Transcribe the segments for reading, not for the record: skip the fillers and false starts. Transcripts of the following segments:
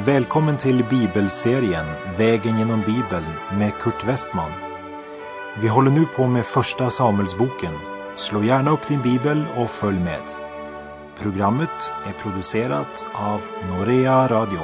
Välkommen till bibelserien Vägen genom Bibeln med Kurt Westman. Vi håller nu på med första Samuelsboken. Slå gärna upp din bibel och följ med. Programmet är producerat av Norea Radio.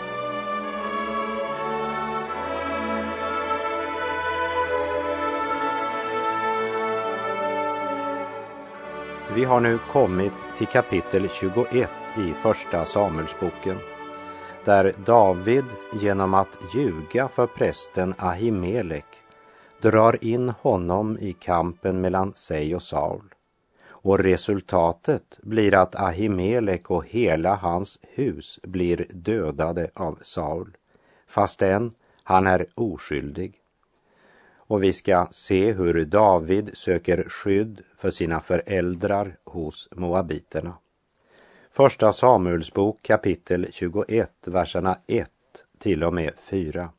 Vi har nu kommit till kapitel 21 i första Samuelsboken, där David genom att ljuga för prästen Ahimelek drar in honom i kampen mellan sig och Saul. Och resultatet blir att Ahimelek och hela hans hus blir dödade av Saul, fastän han är oskyldig. Och vi ska se hur David söker skydd för sina föräldrar hos moabiterna. Första Samuelsbok kapitel 21, verserna 1 till och med 4.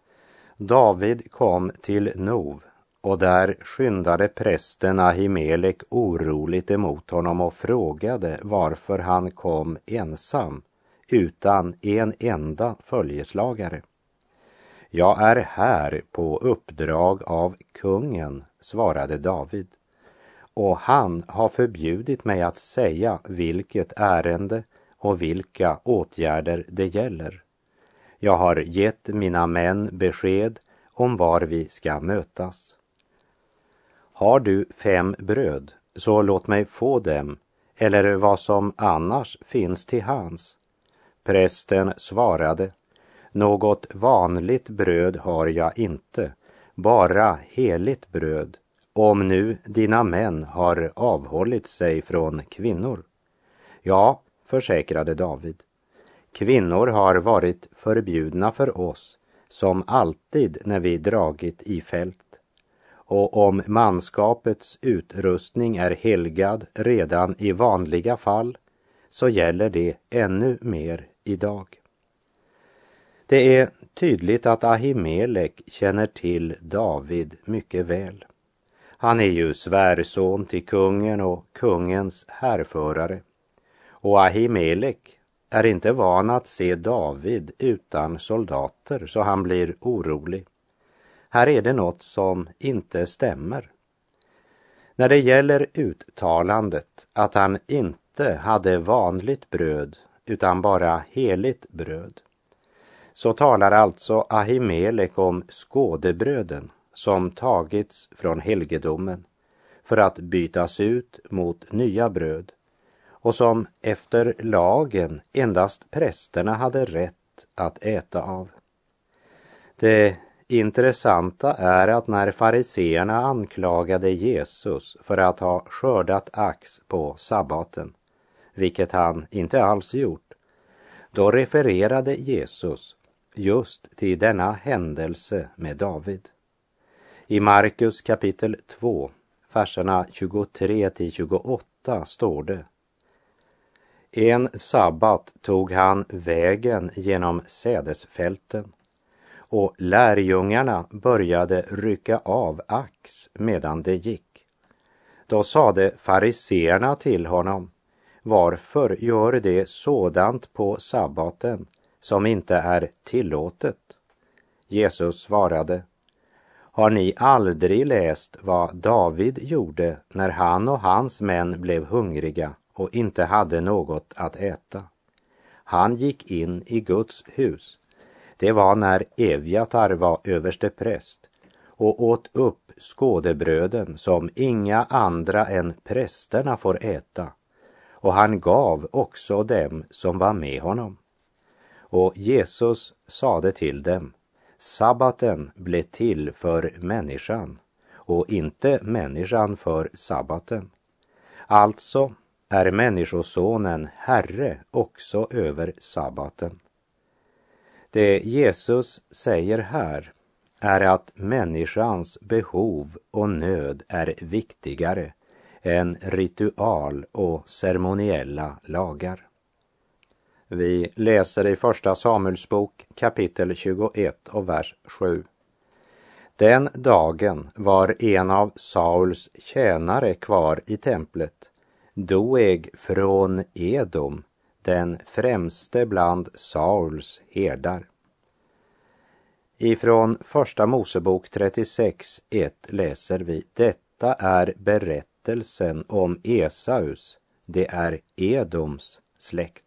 David kom till Nov, och där skyndade prästen Ahimelek oroligt emot honom och frågade varför han kom ensam utan en enda följeslagare. Jag är här på uppdrag av kungen, svarade David, och han har förbjudit mig att säga vilket ärende och vilka åtgärder det gäller. Jag har gett mina män besked om var vi ska mötas. Har du 5 bröd, så låt mig få dem, eller vad som annars finns till hands. Prästen svarade, något vanligt bröd har jag inte, bara heligt bröd, om nu dina män har avhållit sig från kvinnor. Ja, försäkrade David, kvinnor har varit förbjudna för oss, som alltid när vi dragit i fält. Och om manskapets utrustning är helgad redan i vanliga fall, så gäller det ännu mer idag. Det är tydligt att Ahimelek känner till David mycket väl. Han är ju svärson till kungen och kungens härförare. Och Ahimelek är inte van att se David utan soldater, så han blir orolig. Här är det något som inte stämmer. När det gäller uttalandet att han inte hade vanligt bröd utan bara heligt bröd, så talar alltså Ahimelek om skådebröden som tagits från helgedomen för att bytas ut mot nya bröd, och som efter lagen endast prästerna hade rätt att äta av. Det intressanta är att när fariseerna anklagade Jesus för att ha skördat ax på sabbaten, vilket han inte alls gjort, då refererade Jesus just till denna händelse med David. I Markus kapitel 2, verserna 23 till 28 står det: En sabbat tog han vägen genom sädesfälten, och lärjungarna började rycka av ax medan det gick. Då sade fariseerna till honom, varför gör det sådant på sabbaten som inte är tillåtet? Jesus svarade, har ni aldrig läst vad David gjorde när han och hans män blev hungriga och inte hade något att äta? Han gick in i Guds hus. Det var när Evjatar var överstepräst och åt upp skådebröden som inga andra än prästerna får äta. Och han gav också dem som var med honom. Och Jesus sade till dem, sabbaten blev till för människan och inte människan för sabbaten. Alltså är människosonen herre också över sabbaten. Det Jesus säger här är att människans behov och nöd är viktigare än ritual och ceremoniella lagar. Vi läser i första Samuelsbok kapitel 21 och vers 7. Den dagen var en av Sauls tjänare kvar i templet, Doeg från Edom, den främste bland Sauls herdar. Ifrån första Mosebok 36:1 läser vi: detta är berättelsen om Esaus, det är Edoms släkt.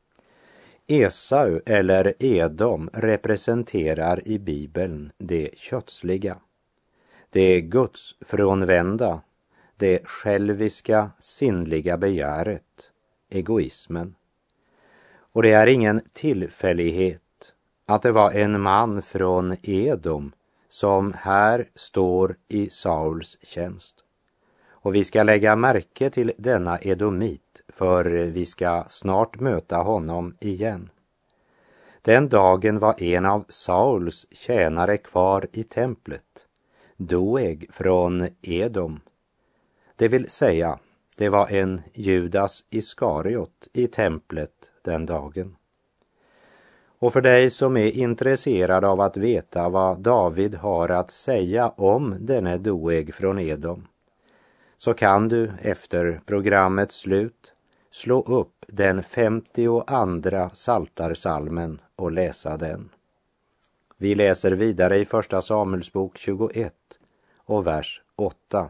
Esau eller Edom representerar i Bibeln det kötsliga, det gudsfrånvända, det själviska sinnliga begäret, egoismen. Och det är ingen tillfällighet att det var en man från Edom som här står i Sauls tjänst. Och vi ska lägga märke till denna edomit, för vi ska snart möta honom igen. Den dagen var en av Sauls tjänare kvar i templet, Doeg från Edom. Det vill säga, det var en Judas Iskariot i templet den dagen. Och för dig som är intresserad av att veta vad David har att säga om denne Doeg från Edom, så kan du efter programmets slut slå upp den 52:a Psaltarpsalmen och läsa den. Vi läser vidare i första Samuelsbok 21 och vers 8.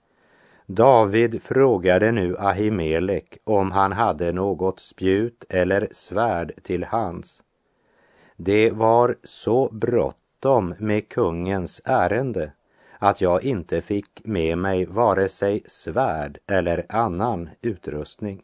David frågade nu Ahimelek om han hade något spjut eller svärd till hands. Det var så bråttom med kungens ärende att jag inte fick med mig vare sig svärd eller annan utrustning.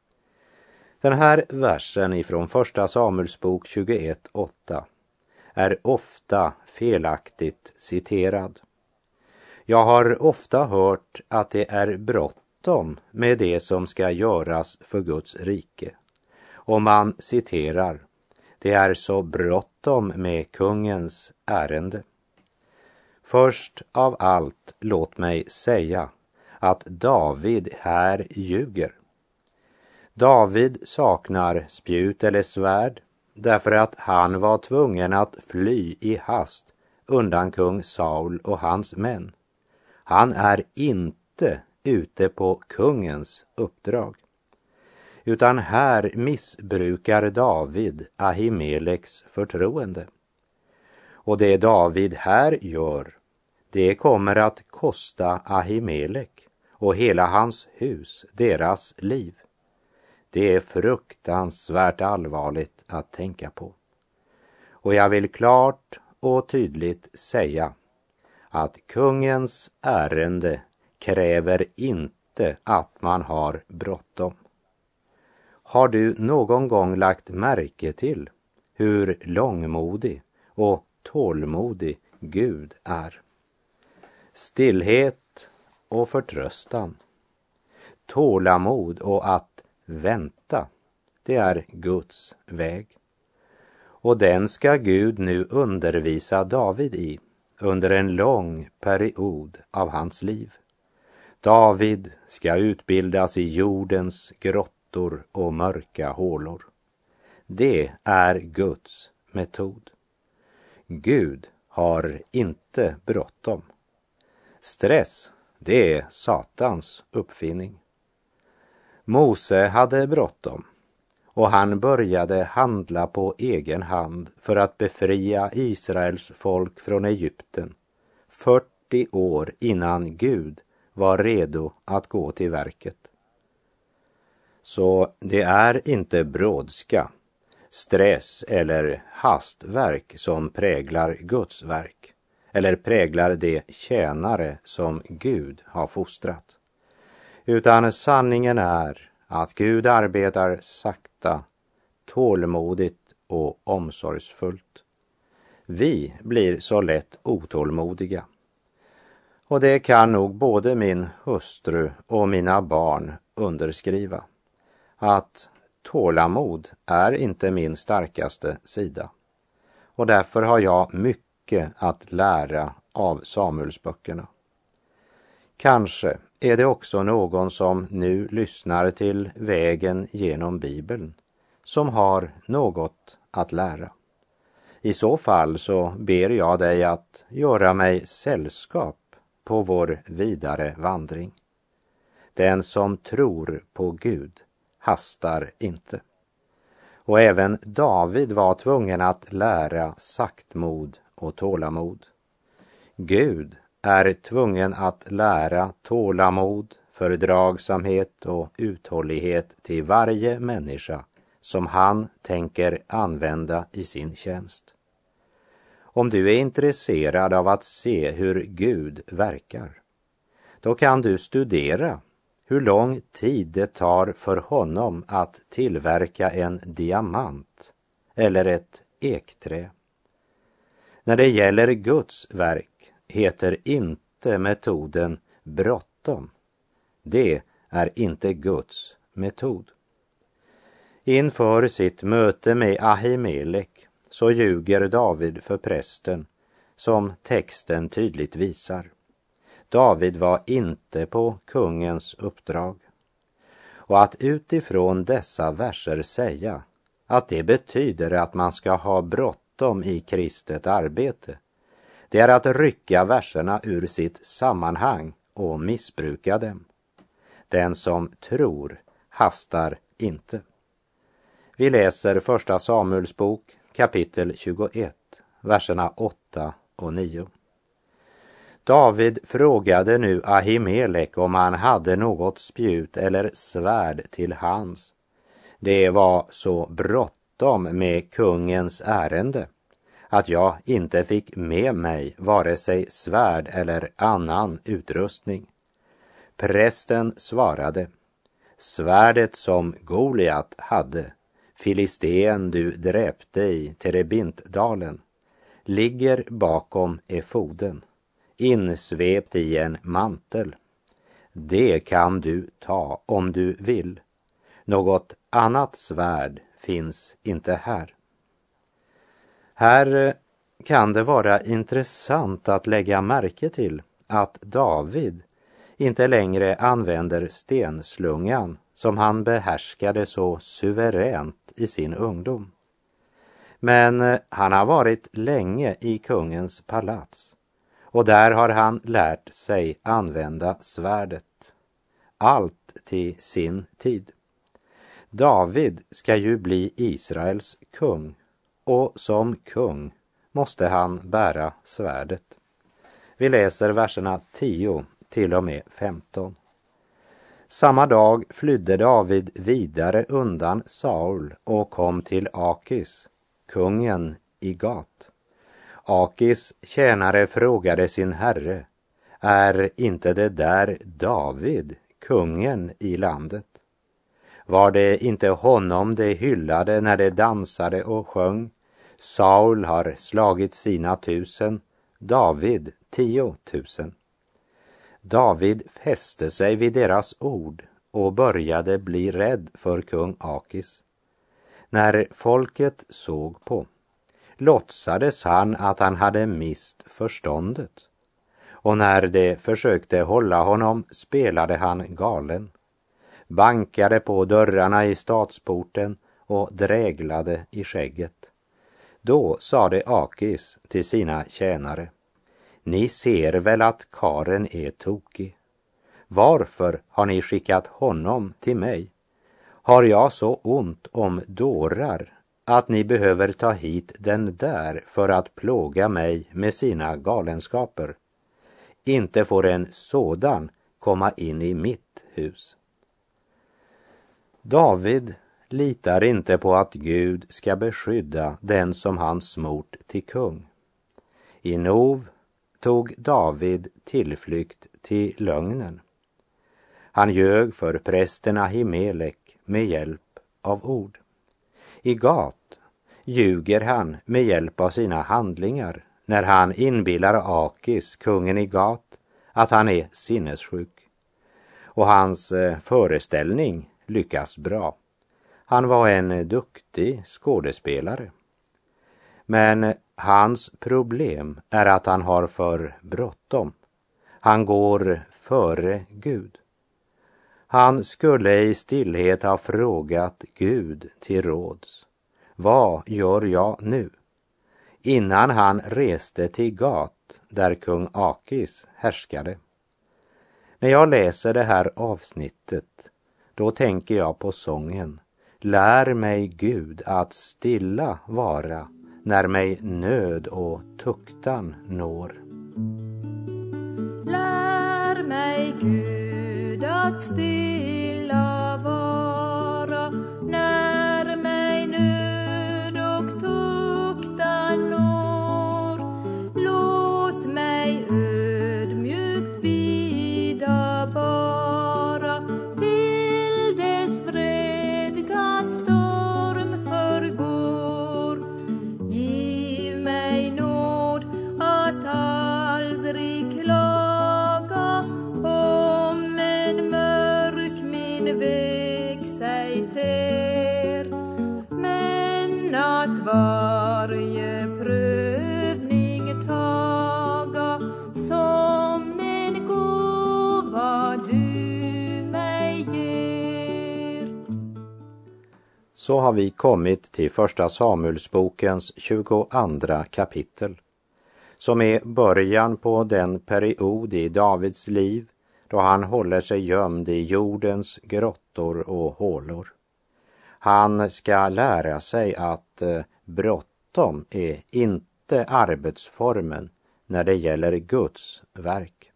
Den här versen ifrån första Samuelsbok 21:8 är ofta felaktigt citerad. Jag har ofta hört att det är bråttom med det som ska göras för Guds rike. Och man citerar: det är så bråttom med kungens ärende. Först av allt, låt mig säga att David här ljuger. David saknar spjut eller svärd därför att han var tvungen att fly i hast undan kung Saul och hans män. Han är inte ute på kungens uppdrag, utan här missbrukar David Ahimeleks förtroende. Och det David här gör, det kommer att kosta Ahimelek och hela hans hus deras liv. Det är fruktansvärt allvarligt att tänka på. Och jag vill klart och tydligt säga att kungens ärende kräver inte att man har bråttom. Har du någon gång lagt märke till hur långmodig och tålmodig Gud är? Stillhet och förtröstan, tålamod och att vänta, det är Guds väg. Och den ska Gud nu undervisa David i under en lång period av hans liv. David ska utbildas i jordens grottor och mörka hålor. Det är Guds metod. Gud har inte bråttom. Stress, det är Satans uppfinning. Mose hade bråttom och han började handla på egen hand för att befria Israels folk från Egypten 40 år innan Gud var redo att gå till verket. Så det är inte brådska, stress eller hastverk som präglar Guds verk eller präglar de tjänare som Gud har fostrat. Utan sanningen är att Gud arbetar sakta, tålmodigt och omsorgsfullt. Vi blir så lätt otålmodiga. Och det kan nog både min hustru och mina barn underskriva. Att tålamod är inte min starkaste sida. Och därför har jag mycket att lära av Samuelsböckerna. Kanske är det också någon som nu lyssnar till Vägen genom Bibeln som har något att lära. I så fall så ber jag dig att göra mig sällskap på vår vidare vandring. Den som tror på Gud hastar inte. Och även David var tvungen att lära saktmod och tålamod. Gud är tvungen att lära tålamod, fördragsamhet och uthållighet till varje människa som han tänker använda i sin tjänst. Om du är intresserad av att se hur Gud verkar, då kan du studera hur lång tid det tar för honom att tillverka en diamant eller ett ekträ. När det gäller Guds verk heter inte metoden bråttom. Det är inte Guds metod. Inför sitt möte med Ahimelek så ljuger David för prästen, som texten tydligt visar. David var inte på kungens uppdrag. Och att utifrån dessa verser säga att det betyder att man ska ha bråttom i kristet arbete, det är att rycka verserna ur sitt sammanhang och missbruka dem. Den som tror hastar inte. Vi läser första Samuels bok, kapitel 21, verserna 8 och 9. David frågade nu Ahimelek om han hade något spjut eller svärd till hands. Det var så bråttom med kungens ärende att jag inte fick med mig vare sig svärd eller annan utrustning. Prästen svarade: svärdet som Goliat hade, filisten du dräpte i Terebintdalen, ligger bakom efoden, insvept i en mantel. Det kan du ta om du vill. Något annat svärd finns inte här. Här kan det vara intressant att lägga märke till att David inte längre använder stenslungan som han behärskade så suveränt i sin ungdom. Men han har varit länge i kungens palats, och där har han lärt sig använda svärdet. Allt till sin tid. David ska ju bli Israels kung, och som kung måste han bära svärdet. Vi läser verserna 10 till och med 15. Samma dag flydde David vidare undan Saul och kom till Akis, kungen i Gat. Akis tjänare frågade sin herre: är inte det där David, kungen i landet? Var det inte honom de hyllade när de dansade och sjöng? Saul har slagit sina 1000, David 10 000. David fäste sig vid deras ord och började bli rädd för kung Akis. När folket såg på, låtsades han att han hade mist förståndet. Och när de försökte hålla honom spelade han galen, bankade på dörrarna i stadsporten och dräglade i skägget. Då sade Akis till sina tjänare: ni ser väl att karen är tokig. Varför har ni skickat honom till mig? Har jag så ont om dårar att ni behöver ta hit den där för att plåga mig med sina galenskaper? Inte får en sådan komma in i mitt hus. David litar inte på att Gud ska beskydda den som han smort till kung. I Nov tog David tillflykt till lögnen. Han ljög för prästen Ahimelek med hjälp av ord. I Gat ljuger han med hjälp av sina handlingar när han inbillar Akis, kungen i Gat, att han är sinnessjuk. Och hans föreställning lyckas bra. Han var en duktig skådespelare. Men hans problem är att han har för bråttom. Han går före Gud. Han skulle i stillhet ha frågat Gud till råds: vad gör jag nu? Innan han reste till Gat där kung Akis härskade. När jag läser det här avsnittet, då tänker jag på sången Lär mig, Gud, att stilla vara när mig nöd och tuktan når. Lär mig, Gud, att stilla vara när mig nöd och tuktan når. Låt mig ödmjukt bida bara till dess vredgans storm förgår. Giv mig nåd att aldrig klaga om en mörk min väg sig ter, men att varje prövning taga som en gåva du mig ger. Så har vi kommit till första Samuelsbokens 22 kapitel, som är början på den period i Davids liv då han håller sig gömd i jordens grottor och hålor. Han ska lära sig att bråttom är inte arbetsformen när det gäller Guds verk.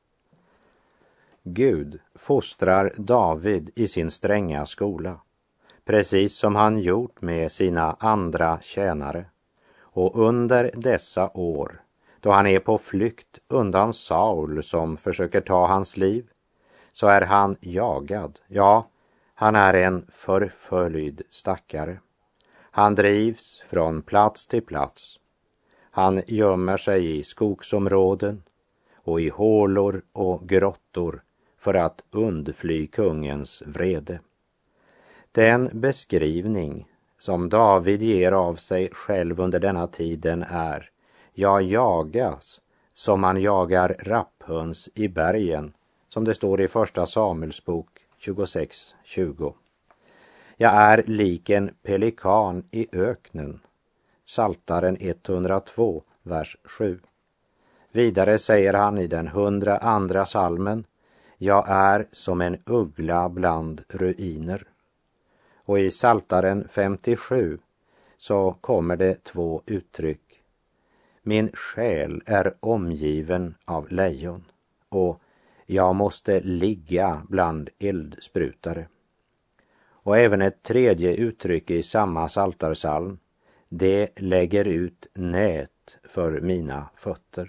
Gud fostrar David i sin stränga skola, precis som han gjort med sina andra tjänare. Och under dessa år, då han är på flykt undan Saul som försöker ta hans liv, så är han jagad. Ja, han är en förföljd stackare. Han drivs från plats till plats. Han gömmer sig i skogsområden och i hålor och grottor för att undfly kungens vrede. Den beskrivning som David ger av sig själv under denna tiden är: jag jagas som man jagar rapphöns i bergen, som det står i första Samuelsbok 26:20. Jag är lik en pelikan i öknen. Psaltaren 102, vers 7. Vidare säger han i den 102:a psalmen: jag är som en uggla bland ruiner. Och i Psaltaren 57 så kommer det 2 uttryck. Min själ är omgiven av lejon, och jag måste ligga bland eldsprutare. Och även ett 3:e uttryck i samma psaltarpsalm: det lägger ut nät för mina fötter.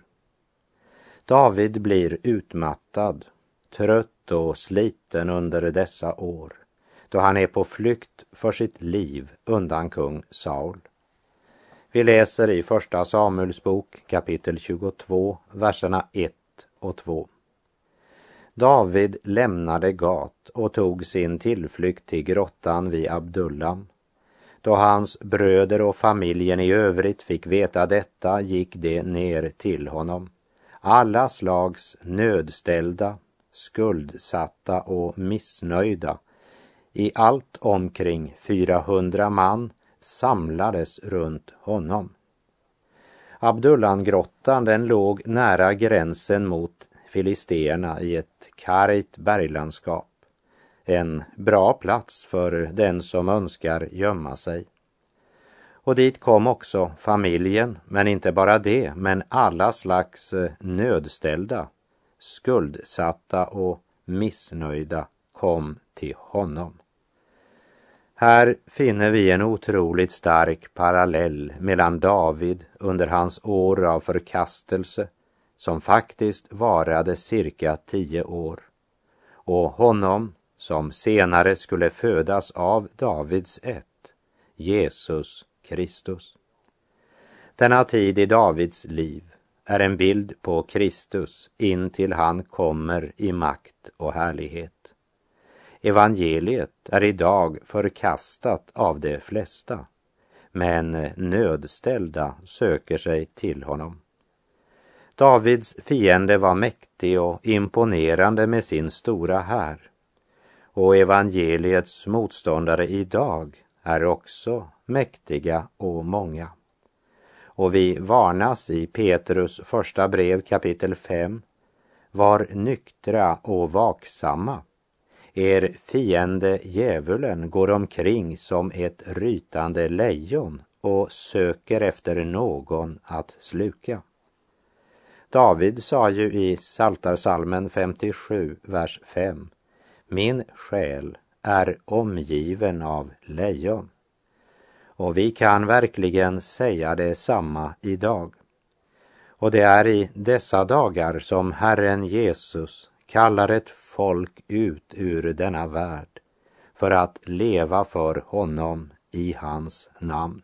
David blir utmattad, trött och sliten under dessa år, då han är på flykt för sitt liv undan kung Saul. Vi läser i första Samuelsbok kapitel 22, verserna 1 och 2. David lämnade Gat och tog sin tillflykt till grottan vid Abdullam. Då hans bröder och familjen i övrigt fick veta detta gick de ner till honom. Alla slags nödställda, skuldsatta och missnöjda, i allt omkring 400 man, samlades runt honom. Abdullamgrottan, den låg nära gränsen mot filisterna i ett kargt berglandskap. En bra plats för den som önskar gömma sig. Och dit kom också familjen, men inte bara det, men alla slags nödställda, skuldsatta och missnöjda kom till honom. Här finner vi en otroligt stark parallell mellan David under hans år av förkastelse, som faktiskt varade cirka 10 år, och honom som senare skulle födas av Davids ett, Jesus Kristus. Denna tid i Davids liv är en bild på Kristus intill han kommer i makt och härlighet. Evangeliet är idag förkastat av de flesta, men nödställda söker sig till honom. Davids fiende var mäktig och imponerande med sin stora här, och evangeliets motståndare idag är också mäktiga och många. Och vi varnas i Petrus första brev kapitel 5: var nyktra och vaksamma. Er fiende djävulen går omkring som ett rytande lejon och söker efter någon att sluka. David sa ju i Psaltarpsalmen 57, vers 5: Min själ är omgiven av lejon. Och vi kan verkligen säga detsamma idag. Och det är i dessa dagar som Herren Jesus kallar ett folk ut ur denna värld för att leva för honom i hans namn.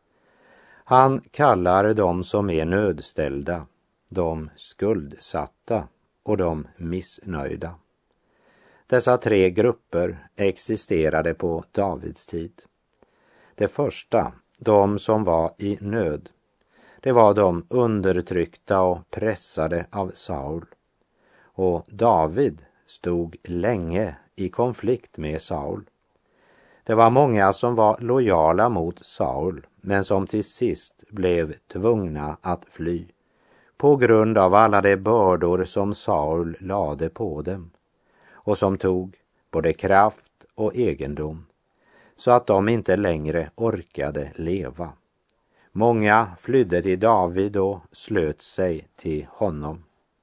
Han kallar dem som är nödställda, de skuldsatta och de missnöjda. Dessa tre grupper existerade på Davids tid. Det första, de som var i nöd, det var de undertryckta och pressade av Saul. Och David stod länge i konflikt med Saul. Det var många som var lojala mot Saul, men som till sist blev tvungna att fly på grund av alla de bördor som Saul lade på dem och som tog både kraft och egendom, så att de inte längre orkade leva. Många flydde till David och slöt sig till honom.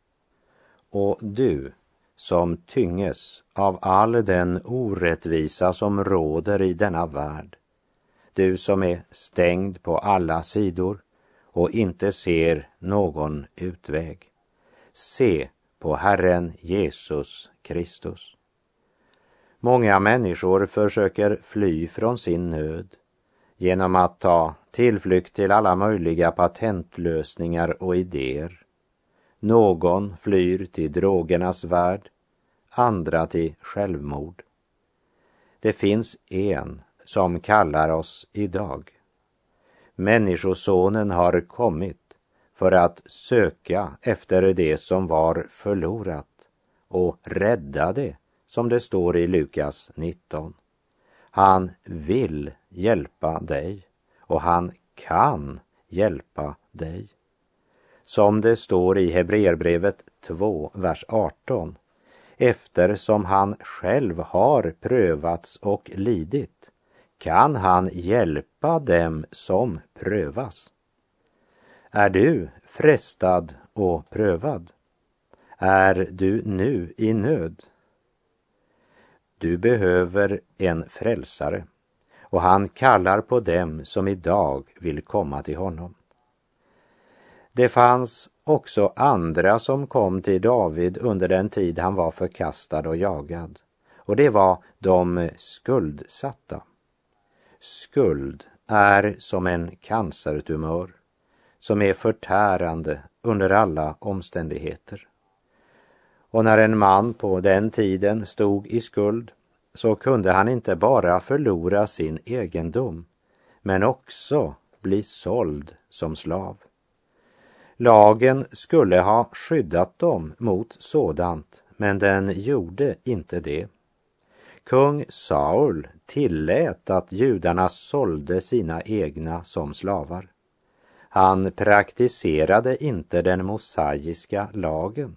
Och du som tynges av all den orättvisa som råder i denna värld, du som är stängd på alla sidor och inte ser någon utväg, se på Herren Jesus Kristus. Många människor försöker fly från sin nöd genom att ta tillflykt till alla möjliga patentlösningar och idéer. Någon flyr till drogernas värld, andra till självmord. Det finns en som kallar oss idag. Människosonen har kommit för att söka efter det som var förlorat och rädda det, som det står i Lukas 19. Han vill hjälpa dig och han kan hjälpa dig. Som det står i Hebreerbrevet 2, vers 18. Eftersom han själv har prövats och lidit, kan han hjälpa dem som prövas. Är du frestad och prövad? Är du nu i nöd? Du behöver en frälsare, och han kallar på dem som idag vill komma till honom. Det fanns också andra som kom till David under den tid han var förkastad och jagad, och det var de skuldsatta. Skuld är som en cancertumör som är förtärande under alla omständigheter. Och när en man på den tiden stod i skuld, så kunde han inte bara förlora sin egendom, men också bli såld som slav. Lagen skulle ha skyddat dem mot sådant, men den gjorde inte det. Kung Saul tillät att judarna sålde sina egna som slavar. Han praktiserade inte den mosaiska lagen.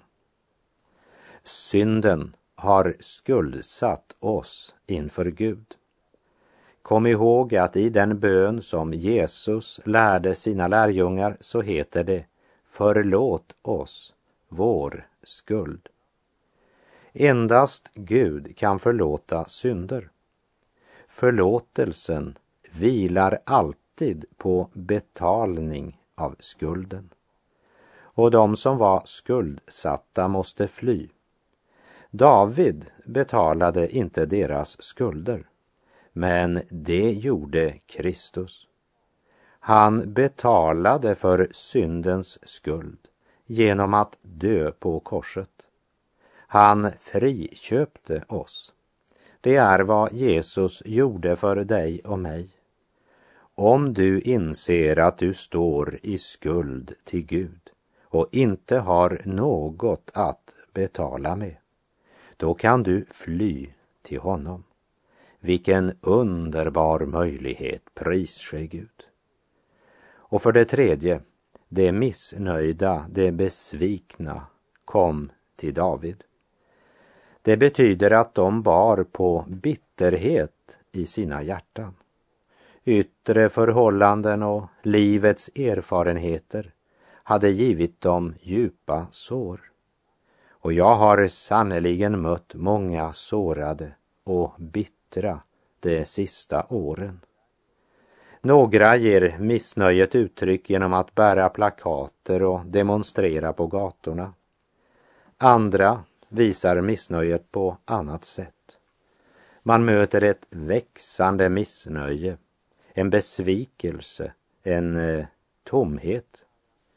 Synden har skuldsatt oss inför Gud. Kom ihåg att i den bön som Jesus lärde sina lärjungar så heter det: förlåt oss vår skuld. Endast Gud kan förlåta synder. Förlåtelsen vilar alltid på betalning av skulden. Och de som var skuldsatta måste fly. David betalade inte deras skulder, men det gjorde Kristus. Han betalade för syndens skuld genom att dö på korset. Han friköpte oss. Det är vad Jesus gjorde för dig och mig. Om du inser att du står i skuld till Gud och inte har något att betala med, då kan du fly till honom. Vilken underbar möjlighet, pris ske Gud. Och för det tredje, det missnöjda, det besvikna kom till David. Det betyder att de bar på bitterhet i sina hjärtan. Yttre förhållanden och livets erfarenheter hade givit dem djupa sår. Och jag har sannoliken mött många sårade och bittra de sista åren. Några ger missnöjet uttryck genom att bära plakater och demonstrera på gatorna. Andra visar missnöjet på annat sätt. Man möter ett växande missnöje, en besvikelse, en tomhet.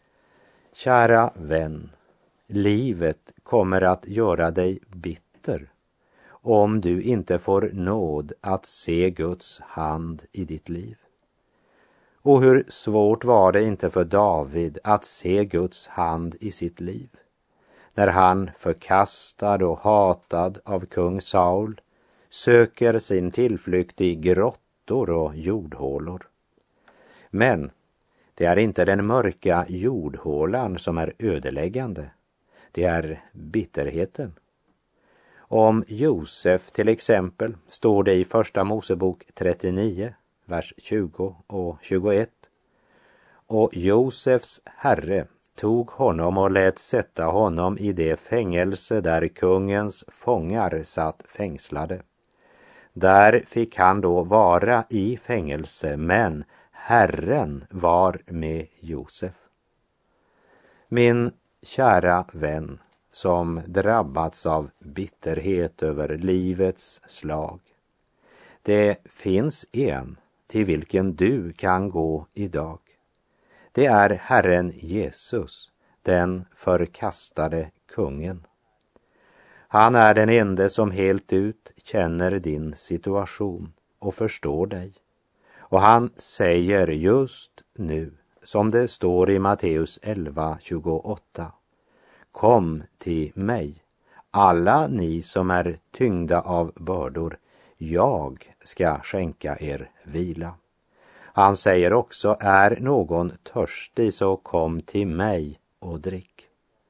Kära vän, livet kommer att göra dig bitter om du inte får nåd att se Guds hand i ditt liv. Och hur svårt var det inte för David att se Guds hand i sitt liv, när han, förkastad och hatad av kung Saul, söker sin tillflykt i grottor och jordhålor. Men det är inte den mörka jordhålan som är ödeläggande, det är bitterheten. Om Josef till exempel står det i Första Mosebok 39, vers 20 och 21. Och Josefs herre tog honom och lät sätta honom i det fängelse där kungens fångar satt fängslade. Där fick han då vara i fängelse, men Herren var med Josef. Min kära vän som drabbats av bitterhet över livets slag. Det finns en till vilken du kan gå idag. Det är Herren Jesus, den förkastade kungen. Han är den ende som helt ut känner din situation och förstår dig. Och han säger just nu, som det står i Matteus 11:28. Kom till mig, alla ni som är tyngda av bördor, jag ska skänka er vila. Han säger också, är någon törstig så kom till mig och drick.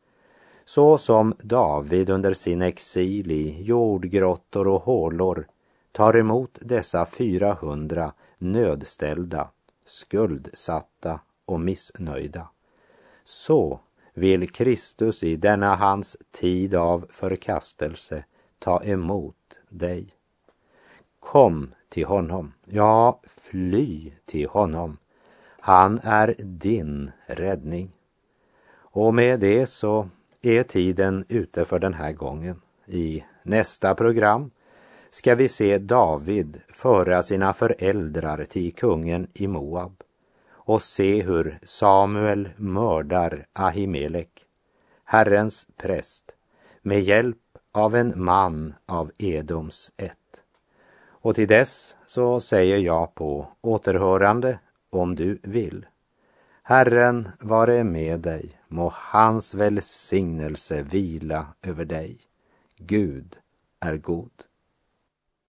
Så som David under sin exil i jordgrottor och hålor tar emot dessa 400 nödställda, skuldsatta och missnöjda, så vill Kristus i denna hans tid av förkastelse ta emot dig. Kom till honom, ja, fly till honom. Han är din räddning. Och med det så är tiden ute för den här gången. I nästa program ska vi se David föra sina föräldrar till kungen i Moab och se hur Samuel mördar Ahimelek, Herrens präst, med hjälp av en man av Edoms ett. Och till dess så säger jag på återhörande om du vill. Herren vare med dig, må hans välsignelse vila över dig. Gud är god.